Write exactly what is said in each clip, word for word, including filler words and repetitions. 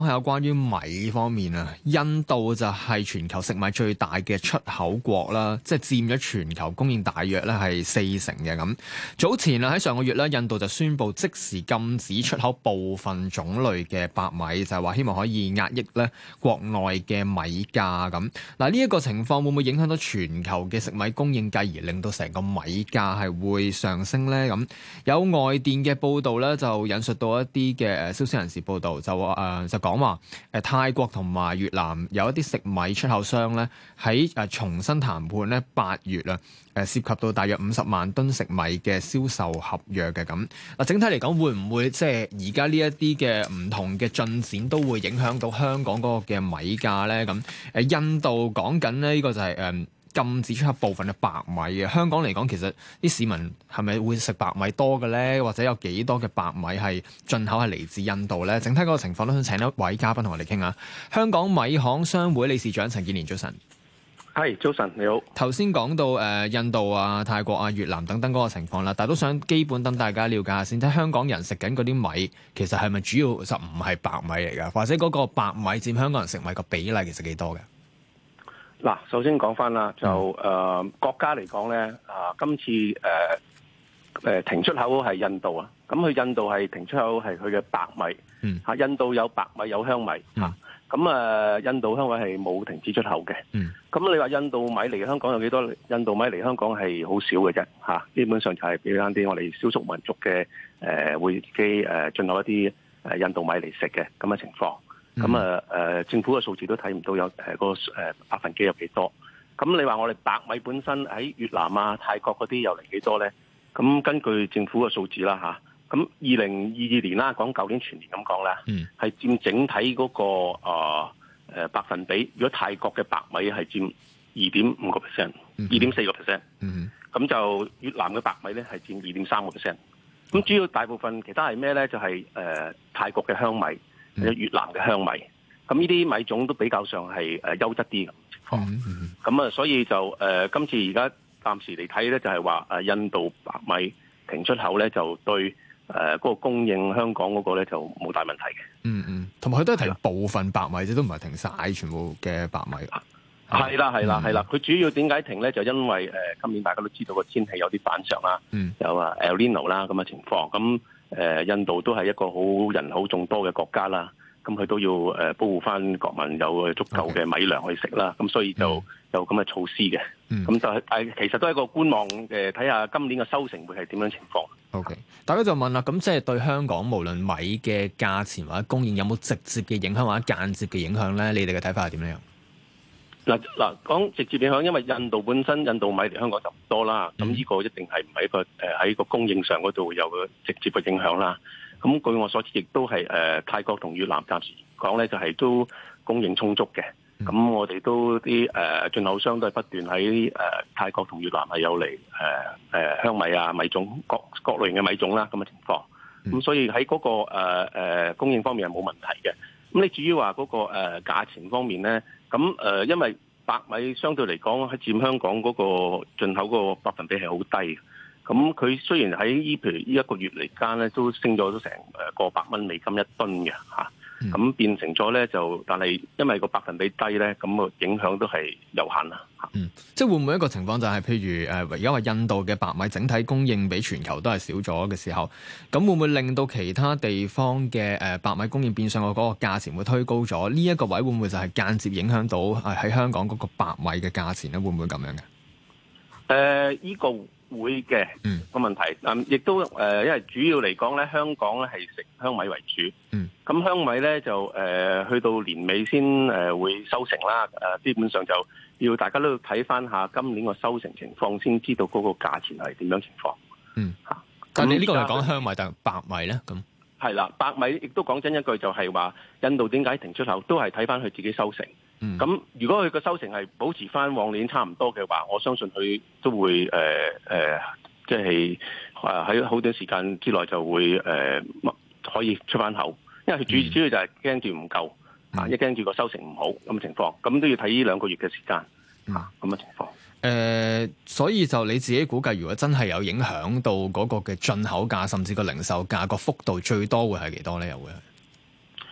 係有關於米方面啊，印度就係全球食米最大嘅出口國啦，即係佔咗全球供應大約咧係四成嘅咁。早前啊喺上個月咧，印度就宣布即時禁止出口部分種類嘅白米，就係話希望可以壓抑咧國內嘅米價咁。嗱，呢一個情況會唔會影響到全球嘅食米供應，繼而令到成個米價係會上升呢？咁有外電嘅報道咧，就引述到一啲嘅誒消息人士報道，就話誒、呃、就講話誒泰國同埋越南有一啲食米出口商咧喺誒重新談判咧八月啊誒涉及到大約五十萬噸食米嘅銷售合約嘅咁。嗱，整體嚟講會唔會即係而家呢一啲嘅唔同嘅進展都會影響到香港嗰個嘅米價咧？咁誒印度講緊咧呢個就係、是、誒。呃禁止出口部分嘅白米嘅，香港嚟講，其實啲市民係咪會食白米多嘅咧？或者有幾多嘅白米係進口係嚟自印度咧？整體嗰個情況都想請一位嘉賓同我哋傾下。香港米行商會理事長陳建年，早晨。 係，早晨，你好。 頭先講到誒、呃、印度啊、泰國啊、越南等等嗰個情況啦，但係都想基本等大家了解下先。睇香港人食緊嗰啲米，其實係咪主要就唔係白米嚟㗎？或者嗰個白米佔香港人食米個比例其實幾多嘅？ 嗱，首先講翻啦，就誒、呃、國家嚟講咧，啊、呃、今次誒誒、呃、停出口係印度啊，咁佢印度係停出口係佢嘅白米，嚇、嗯、印度有白米有香米嚇，咁啊、嗯呃、印度香米係冇停止出口嘅，咁、嗯、你話印度米嚟香港有幾多？印度米嚟香港係好少嘅啫嚇，基本上就係俾翻啲我哋少數民族嘅誒、呃、會自己誒進口一啲誒印度米嚟食嘅咁嘅情況。咁啊誒政府嘅數字都睇唔到有誒、呃、個誒、呃、百分比有幾多？咁你話我哋白米本身喺越南啊、泰國嗰啲又嚟幾多咧？咁根據政府嘅數字啦嚇，咁二零二二年啦，講舊年全年咁講啦，係佔整體嗰、那個啊誒、呃、百分比。如果泰國嘅白米係佔二點五個 percent， 二點四個 percent，咁就越南嘅白米咧係佔二點三個 percent。咁主要大部分其他係咩咧？就係、是、誒、呃、泰國嘅香米。有越南嘅香米，咁呢啲米種都比較上係誒優質啲嘅情況，咁啊、嗯嗯，所以就誒、呃、今次而家暫時嚟睇咧，就係話誒印度白米停出口咧，就對誒嗰、呃那個供應香港嗰個咧就冇大問題嘅。嗯嗯， 同埋佢都係停部分白米啫，都唔係停晒全部嘅白米。 係啦係啦係啦，佢、嗯、主要點解停咧？就因為誒、呃、今年大家都知道個天氣有啲反常啦，嗯、有啊 El Nino 啦咁嘅情況咁。誒、呃、印度都係一個好人口眾多嘅國家啦，咁佢都要誒、呃、保護翻國民有足夠嘅米糧去食啦，咁 Okay. 所以就有咁嘅措施嘅。咁、嗯、就係誒其實都係一個觀望嘅，睇下今年嘅收成會係點樣情況。 OK，大家就問啦，咁即係對香港無論米嘅價錢或者供應有冇直接嘅影響或者間接嘅影響咧？你哋嘅睇法係點樣？ 嗱嗱講直接影響，因為印度本身印度米嚟香港就唔多啦，咁呢、嗯、個一定係唔係一個誒喺個供應上嗰度有個直接嘅影響啦。咁據我所知，亦都係誒、呃、泰國同越南暫時講咧，就係、是、都供應充足嘅。咁、嗯、我哋都啲誒進口商都係不斷喺誒、呃、泰國同越南係有嚟誒誒香米啊米種各各類型嘅米種啦咁嘅情況。咁、嗯、所以喺嗰、那個誒、呃呃、供應方面係冇問題嘅。咁你至於話嗰個誒、呃、價錢方面咧？咁誒、呃，因為白米相對嚟講，喺佔香港嗰個進口個百分比係好低。咁佢雖然喺依譬如呢一個月嚟間咧，都升咗都成誒過百蚊美金一噸嘅嚇。咁、嗯、變成咗咧就，但係因為個百分比低咧，咁個影響都係有限啦。 嗯，即係會唔會一個情況就係、是，譬如誒而家話印度嘅白米整體供應比全球都係少咗嘅時候，咁會唔會令到其他地方嘅誒白米供應變相個嗰個價錢會推高咗？呢、這、一個位會唔會就係間接影響到喺香港嗰個白米嘅價錢咧？會唔會咁樣嘅？誒、 呃，依、這個會嘅，嗯，個問題，嗯，亦都誒、呃，因為主要嚟講咧，香港咧係食香米為主，嗯，咁香米咧就誒、呃、去到年尾先誒、呃、會收成啦，誒、呃，基本上就要大家都要睇翻下今年個收成情況，先知道嗰個價錢係點樣情況，嗯，嚇、啊， 但係你呢個係講香米定係白米咧？咁係啦，白米亦都講真一句，就係話印度點解停出口，都係睇翻佢自己收成。咁、嗯、如果佢個收成係保持翻往年差唔多嘅話，我相信佢都會誒誒、呃，即係喺好短時間之內就會誒、呃、可以出翻口，因為佢主、嗯、主要就係驚住唔夠啊，一驚住個收成唔好咁嘅情況，咁都要睇呢兩個月嘅時間啊咁嘅情況。誒、 呃，所以就你自己估計，如果真係有影響到嗰個嘅進口價，甚至個零售價個幅度最多會係幾多咧？又會係？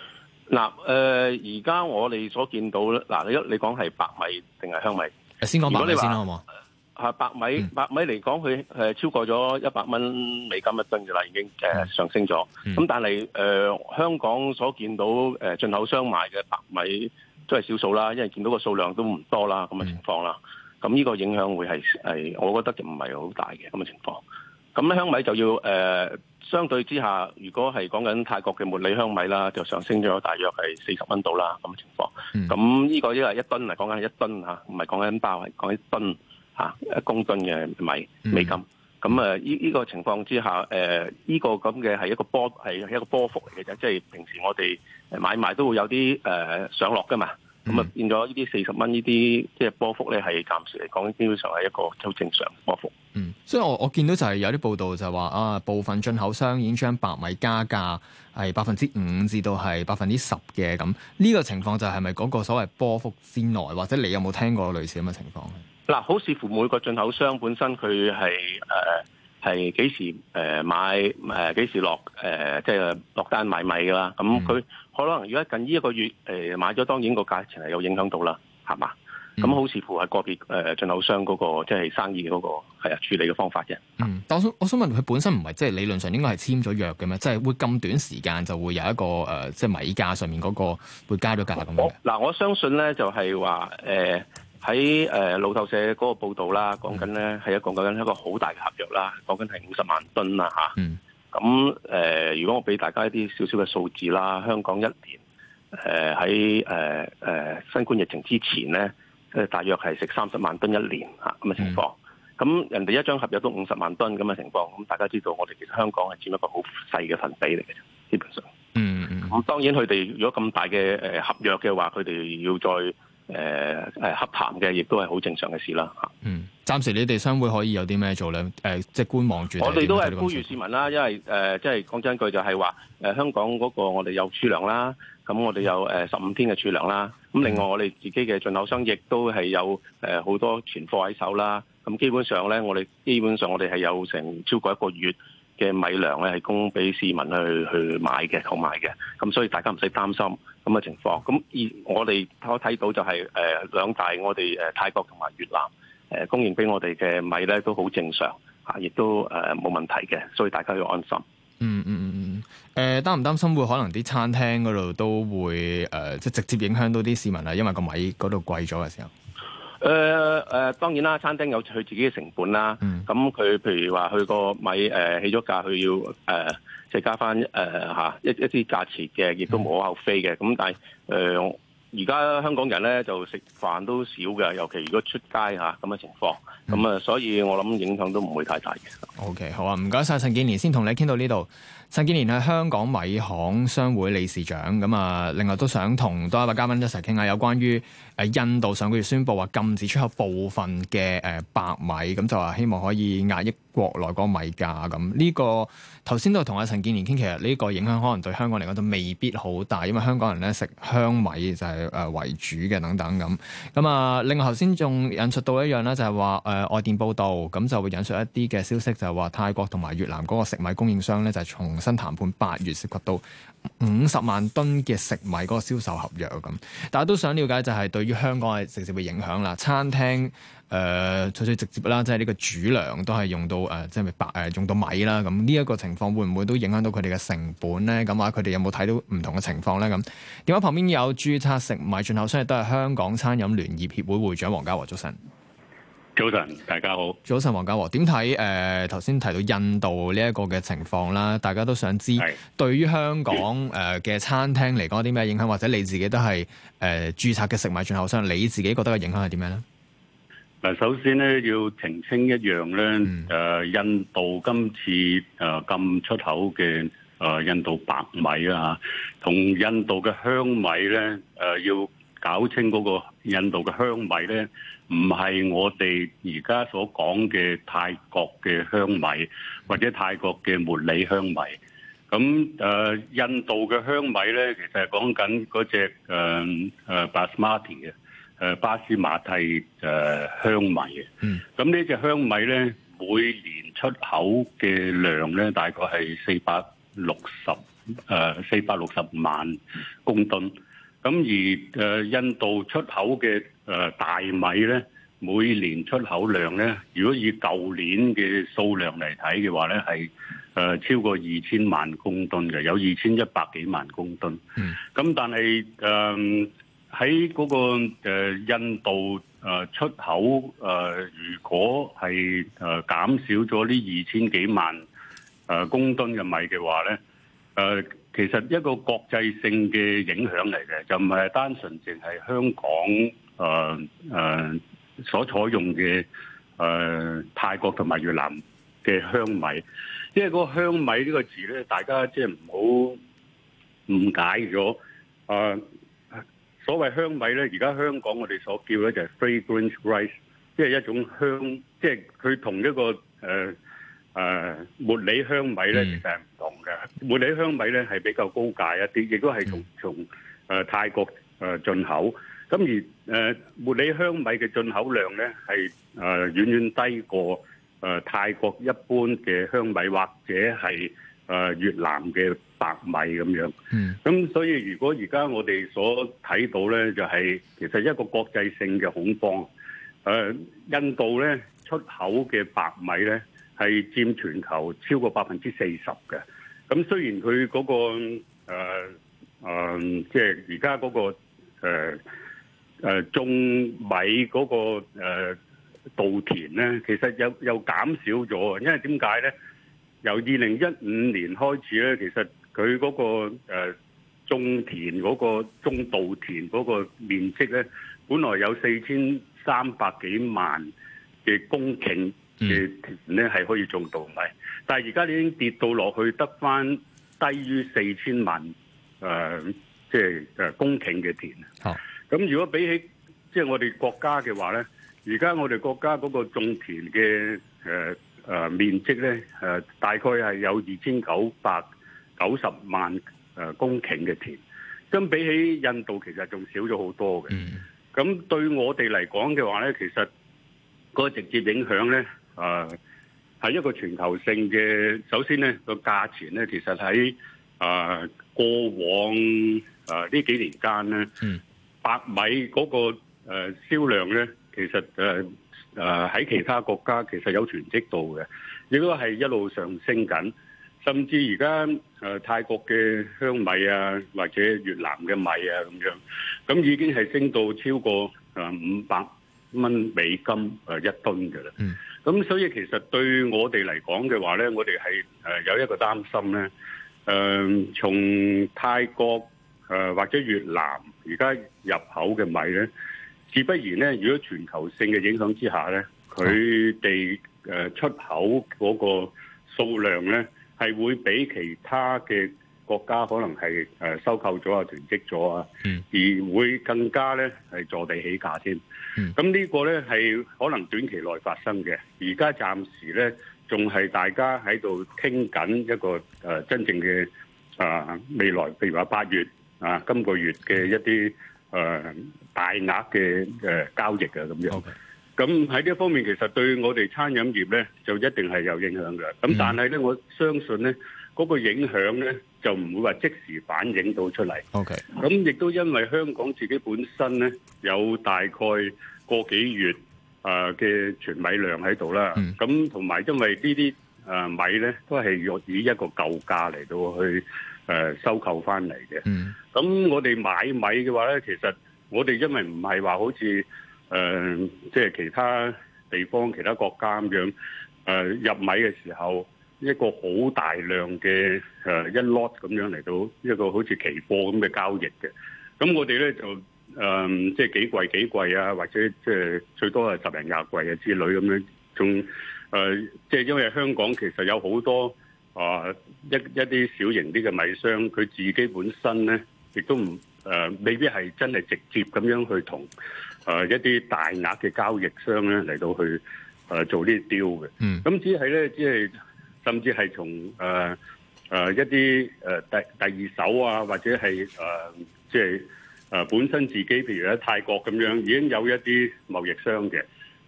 嗱，誒而家我哋所見到咧，嗱，你一你講係白米定係香米？ 先講白米先啦，好冇？ 係白米，嗯、白米嚟講，佢誒超過咗一百蚊美金一噸嘅啦，已經誒上升咗。咁、嗯、但係誒、呃、香港所見到誒進口商賣嘅白米都係少數啦，因為見到個數量都唔多啦，咁嘅情況啦。咁呢、嗯、個影響會係係，我覺得唔係好大嘅咁嘅情況。咁香米就要誒、呃、相對之下，如果係講緊泰國嘅茉莉香米啦，就上升咗大約係四十蚊度啦咁嘅情況。咁呢、嗯、個因為一噸嚟講緊係一噸嚇，唔係講緊包，係講緊噸嚇一公噸嘅米美金。咁誒呢呢個情況之下，誒、呃、呢、呢個咁嘅係一個波係一個波幅嚟嘅啫，即係平時我哋買賣都會有啲誒、呃、上落㗎嘛。咁啊、嗯、變咗呢啲四十蚊呢啲即係波幅咧，係暫時嚟講基本上係一個好正常嘅波幅。 嗯，所以我我見到就係有啲報道就係話啊，部分進口商已經將白米加價係百分之五至到係百分之十嘅咁。呢個情況就係咪嗰個所謂波幅之內，或者你有冇聽過類似咁嘅情況咧？嗱，好視乎每個進口商本身佢係誒係幾時誒買誒幾時落誒即係落單買米㗎啦。咁佢、嗯、可能如果近呢一個月誒買咗，當然個價錢係有影響到啦，係嘛？咁、嗯、好視乎係個別誒進口商嗰、嗰個即係、即係、生意嗰、嗰個係啊處理嘅方法嘅。嗯，但我想我想問佢本身唔係即係理論上應該係簽咗約嘅咩？即係會咁短時間就會有一個誒、呃、即係米價上面嗰個會加咗價咁樣。 嗱，我相信咧就係話誒喺誒路透社嗰個報導啦，講緊咧係一個講緊一個好大嘅合約啦，講緊係五十萬噸啦嚇。嗯。咁誒、呃，如果我俾大家一啲少少嘅數字啦，香港一年誒喺誒誒新冠疫情之前咧。誒大約係食三十萬噸一年嚇咁嘅情況，咁、嗯、人哋一張合約都五十萬噸咁嘅情況，咁大家知道我哋其實香港係佔一個好細嘅份比嚟嘅啫，基本上。嗯嗯。咁當然佢哋如果咁大嘅誒合約嘅話，佢哋要再誒誒洽談嘅，亦都係好正常嘅事啦嚇。嗯，暫時你哋商會可以有啲咩做咧？誒、呃，即係觀望住。我哋都係呼籲市民啦，因為誒、呃、即係講真句就係話誒香港嗰個我哋有儲糧啦。咁我哋有誒十五天嘅儲糧啦，咁另外我哋自己嘅進口商亦都係有誒好多存貨喺手啦。咁基本上咧，我哋基本上我哋係有成超過一個月嘅米糧咧，係供俾市民去去買嘅、購買嘅。咁所以大家唔使擔心咁嘅情況。咁而我哋可睇到就係誒兩大我哋誒泰國同埋越南誒供應俾我哋嘅米咧都好正常嚇，亦都誒冇問題嘅，所以大家要安心。嗯嗯嗯嗯，誒擔唔擔心會可能啲餐廳嗰度都會誒、呃、即係直接影響到啲市民啊？因為個米嗰度貴咗嘅時候。誒誒、呃呃，當然啦，餐廳有佢自己嘅成本啦。咁佢、嗯、譬如話佢個米誒、呃、起咗價，佢要誒、呃、即係加翻誒嚇一一啲價錢嘅，亦都無可厚非嘅。咁但係誒而家香港人咧就食飯都少嘅，尤其如果出街嚇咁嘅情況。咁啊，嗯、所以我諗影響都唔會太大嘅。O、okay, K， 好啊，唔該晒陳建年，先同你傾到呢度。陳建年係香港米行商會理事長。咁啊，另外都想同多一位嘉賓一齊傾下有關於誒印度上個月宣布話禁止出口部分嘅誒白米，咁就話希望可以壓抑國內嗰個米價。咁呢個頭先都同阿陳建年傾，其實呢個影響可能對香港嚟講都未必好大，因為香港人咧食香米就係誒為主嘅等等咁。咁啊，另外頭先仲引述到一樣咧，就係話誒外電報道，咁就會引述一啲嘅消息，就係話泰國同埋越南嗰個食米供應商咧，就係重新談判八月涉及到五十萬噸嘅食米嗰個銷售合約咁。大家都想了解就係對於香港係直接嘅影響啦。餐廳誒最最直接啦，即係呢個主糧都係用到誒即係白誒用到米啦。咁呢一個情況會唔會都影響到佢哋嘅成本咧？咁啊，佢哋有冇睇到唔同嘅情況咧？咁電話旁邊有註冊食米進口商亦都係香港餐飲聯業協會會長黃家和，早晨。 早晨，大家好。 早晨，黃家和，點睇誒頭先提到印度呢一個嘅情況啦？大家都想知是對於香港誒嘅餐廳嚟講有啲咩影響，或者你自己都係誒註冊嘅食米進口商，你自己覺得嘅影響係點樣咧？ 嗱，首先咧要澄清一樣咧，誒、嗯呃、印度今次誒、呃、禁出口嘅誒、呃、印度白米啊，同印度嘅香米咧誒、呃、要搞清嗰個印度嘅香米咧，唔係我哋而家所講嘅泰國嘅香米或者泰國嘅茉莉香米。咁誒、呃、印度嘅香米咧，其實係講緊嗰隻誒誒巴斯馬蒂嘅誒巴斯馬蒂誒香米嘅。嗯。咁呢隻香米咧，每年出口嘅量咧，大概係四百六十誒四百六十萬公噸。咁而誒、呃、印度出口嘅誒、呃、大米咧，每年出口量咧，如果以舊年嘅數量嚟睇嘅話咧，係誒超過二千萬公噸嘅，有二千一百幾萬公噸。嗯。咁但係誒喺嗰個、呃、印度誒出口誒、呃，如果係誒減少咗呢二千幾萬誒公噸嘅米嘅話咧，誒、呃。其實一個國際性嘅影響嚟嘅，就唔係單純淨係香港誒誒、呃呃、所採用嘅誒、呃、泰國同埋越南嘅香米，因為嗰個香米呢個字咧，大家即係唔好誤解咗。誒、呃、所謂香米咧，而家香港我哋所叫咧就係 fragrant rice， 即係一種香，即係佢同一個誒。呃誒、呃、茉莉香米咧，其實係唔同嘅。茉莉香米咧係比較高價一啲，亦都係從從誒、呃、泰國誒進、呃、口。咁而誒、呃、茉莉香米嘅進口量咧係誒遠遠低過誒、呃、泰國一般嘅香米，或者係誒、呃、越南嘅白米咁樣。嗯。咁所以如果而家我哋所睇到咧，就係、是、其實一個國際性嘅恐慌。誒、呃、印度咧出口嘅白米咧，係佔全球超過百分之四十嘅，咁雖然佢嗰、那個誒、呃呃、即係而家嗰個誒、呃呃、種米嗰、那個誒、呃、稻田咧，其實又又減少咗，因為點解咧？由二零一五年開始咧，其實佢嗰、那個誒、呃、種田嗰、那個種稻田嗰個面積咧，本來有四千三百幾萬嘅公頃嘅田咧係可以種稻米，但係而家已經跌到落去得翻低於四千萬誒，即係誒公頃嘅田。好，咁如果比起即係我哋國家嘅話咧，而家我哋國家嗰個種田嘅誒誒面積咧誒，大概係有二千九百九十萬誒公頃嘅田，咁比起印度其實仲少咗好多嘅。咁、嗯、對我哋嚟講嘅話咧，其實個直接影響咧。誒、呃、係一個全球性嘅。首先咧個價錢咧，其實喺誒、呃、過往誒呢、呃、幾年間咧，嗯、白米嗰、那個誒、呃、銷量咧，其實誒誒喺其他國家其實有囤積度嘅，亦都係一路上升緊。甚至而家誒泰國嘅香米啊，或者越南嘅米啊咁樣，咁已經係升到超過誒五百蚊美金誒一噸嘅啦。嗯咁所以其實對我哋嚟講嘅話咧，我哋係誒有一個擔心咧。誒、呃，從泰國誒、呃、或者越南而家入口嘅米咧，自不然咧，如果全球性嘅影響之下咧，佢哋誒出口嗰個數量咧，係會比其他嘅國家可能係誒收購咗啊、囤積咗啊，而會更加咧係坐地起價添。咁呢個咧係可能短期內發生嘅，而家暫時咧仲係大家喺度傾緊一個誒、呃、真正嘅啊、呃、未來，譬如話八月啊今個月嘅一啲誒、呃、大額嘅誒交易啊咁樣。咁喺呢一方面，其實對我哋餐飲業咧就一定係有影響嘅。咁但係咧，我相信咧嗰、那個影響咧就唔會話即時反映到出嚟。OK。咁亦都因為香港自己本身咧有大概個幾月誒嘅存米量喺度啦。咁同埋因為呢啲誒米咧都係用以一個舊價嚟到去誒收購翻嚟嘅。咁、mm. 我哋買米嘅話咧，其實我哋因為唔係話好似誒、呃，即係其他地方、其他國家咁樣誒、呃、入米嘅時候，一個好大量嘅誒、呃、一 lot 咁樣嚟到一個好似期貨咁嘅交易嘅。咁我哋咧就誒、呃，即係幾貴幾貴啊，或者即係最多係十零廿貴啊之類咁樣。仲誒、呃，即係因為香港其實有好多啊、呃、一一啲小型啲嘅米商，佢自己本身咧亦都唔誒、呃，未必係真係直接咁樣去同。誒、呃、一啲大額嘅交易商咧嚟到去誒、呃、做呢啲 deal 嘅，咁、嗯、只係咧，只係甚至係從誒誒一啲誒、呃、第第二手啊，或者係誒、呃、即係誒、呃、本身自己，譬如喺泰國咁樣，已經有一啲貿易商嘅，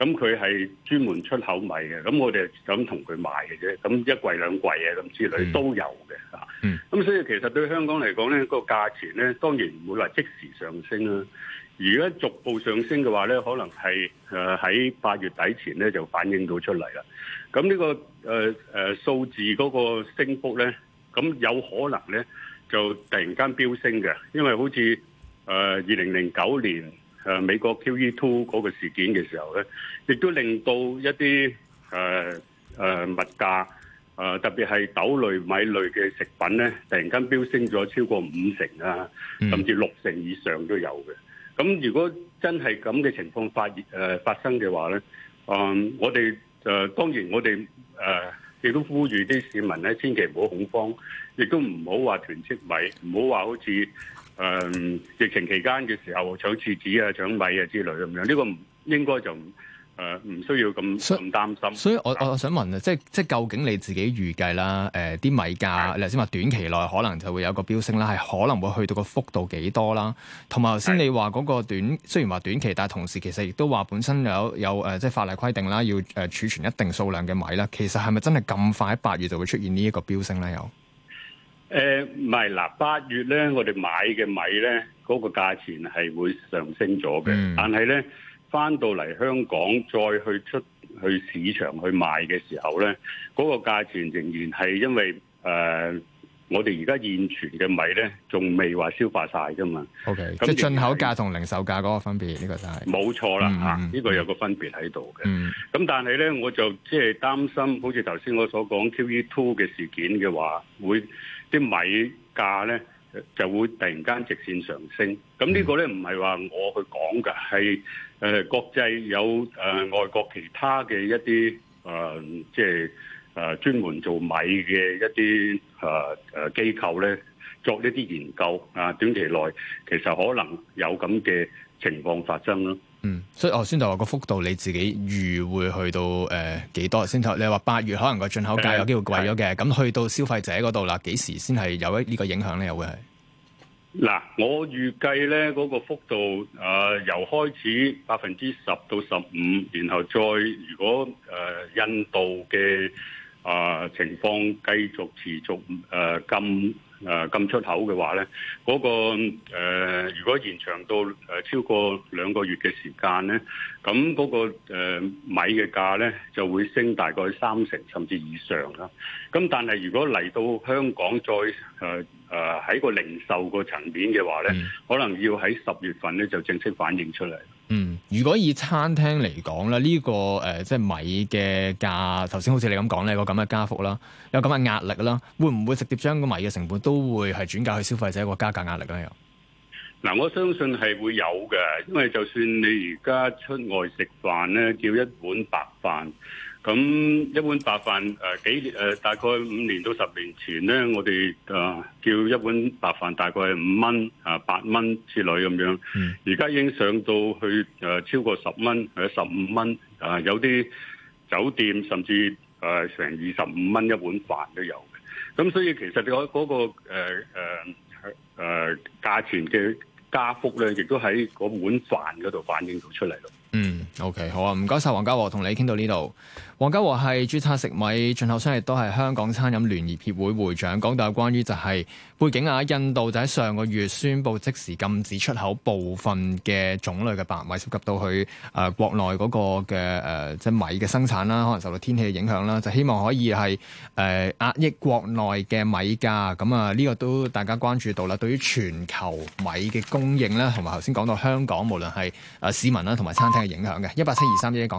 咁佢係專門出口米嘅，咁我哋就咁同佢買嘅啫。咁一櫃兩櫃啊，咁之類都有嘅嚇。咁、嗯、所以其實對香港嚟講咧，個價錢咧當然唔會話即時上升啦。如果逐步上升嘅話咧，可能係誒喺八月底前咧就反映到出嚟啦。咁呢、這個誒誒、呃呃、數字嗰個升幅咧，咁有可能咧就突然間飆升嘅，因為好似誒二零零九年。誒、呃、美國 Q E 二嗰個事件嘅時候咧，亦都令到一啲誒誒物價誒、呃、特別係豆類、米類嘅食品咧，突然間飆升咗超過五成啊，甚至六成以上都有嘅。咁如果真係咁嘅情況發誒、呃、發生嘅話咧，嗯、呃，我哋誒、呃、當然我哋誒亦都呼籲啲市民咧，千祈唔好恐慌，亦都唔好話囤積米，唔好話好似。誒、嗯、疫情期間嘅時候搶廁紙啊、搶米啊之類咁樣，呢、這個唔應該就誒唔、呃、需要咁咁擔心。 所以我我想問啊，即係即係究竟你自己預計啦？誒、呃、啲米價，你頭先話短期內可能就會有一個飆升啦，係可能會去到個幅度幾多啦？同埋頭先你話嗰個短，雖然話短期，但係同時其實亦都話本身有有誒、呃、即係法例規定啦，要誒、呃、儲存一定數量嘅米啦。其實係咪真係咁快喺八月就會出現呢一個飆升咧？又？ 誒唔係嗱，八月咧，我哋買嘅米咧，嗰、那個價錢係會上升咗嘅。嗯、但係咧，翻到嚟香港再去出去市場去賣嘅時候咧，嗰、那個價錢仍然係因為誒、呃，我哋而家現存嘅米咧，仲未話消化晒噶嘛。O K，即係進口價同零售價嗰個分別，呢、這個就係、是、冇錯啦嚇，呢、嗯這個有個分別喺度嘅。咁、嗯、但係咧，我就即係擔心，好似頭先我所講 Q E 二嘅事件嘅話，會。啲米價咧就會突然間直線上升，咁呢個咧唔係話我去講嘅，係誒國際有誒、呃、外國其他嘅一啲誒、呃、即係誒、呃、專門做米嘅一啲誒誒機構咧作一啲研究啊，短期內其實可能有咁嘅情況發生咯。 嗯，所以我先就話個幅度你自己預會去到誒幾、呃、多先？頭你話八月可能個進口價有機會貴咗嘅，咁、嗯、去到消費者嗰度啦，幾時先係有呢個影響咧？又會係嗱，我預計咧嗰個幅度誒、呃、由開始百分之十到十五，然後再如果誒、呃、印度嘅啊、呃、情況繼續持續誒咁。呃誒咁、呃、出口嘅話咧，嗰、那個、呃、如果延長到誒、呃、超過兩個月嘅時間咧，咁嗰、那個、呃、米嘅價咧就會升大概三成甚至以上啦。咁但係如果嚟到香港再誒誒喺個零售個層面嘅話咧，嗯、可能要喺十月份咧就正式反映出嚟。 嗯，如果以餐廳嚟講咧，呢、這個誒、呃、即係米嘅價，頭先好似你咁講咧，有個咁嘅加幅啦，有咁嘅壓力啦，會唔會直接將個米嘅成本都會係轉嫁去消費者個加價壓力咧？又嗱，我相信係會有嘅，因為就算你而家出外食飯咧，叫一碗白飯。咁一碗白飯誒、呃、幾年誒、呃、大概五年到十年前咧，我哋誒、呃、叫一碗白飯大概係五蚊啊八蚊之類咁樣。而家、嗯、已經上到去誒、呃、超過十蚊或者十五蚊啊，有啲酒店甚至誒成二十五蚊一碗飯都有嘅。咁所以其實你嗰嗰個誒誒誒價錢嘅加幅咧，亦都喺嗰碗飯嗰度反映到出嚟咯。 嗯 ，OK， 好啊，唔該晒黃家和，同你傾到呢度。黃家和係註冊食米進口商，亦都係香港餐飲聯業協會會長。講到有關於就係背景啊，印度就喺上個月宣布即時禁止出口部分嘅種類嘅白米，涉及到去誒、呃、國內嗰個嘅誒、呃、即係米嘅生產啦，可能受到天氣嘅影響啦，就希望可以係誒、呃、壓抑國內嘅米價。咁啊，呢個都大家關注到啦。對於全球米嘅供應咧，同埋頭先講到香港無論係誒市民啦同埋餐廳嘅影響嘅，一八七二三一講。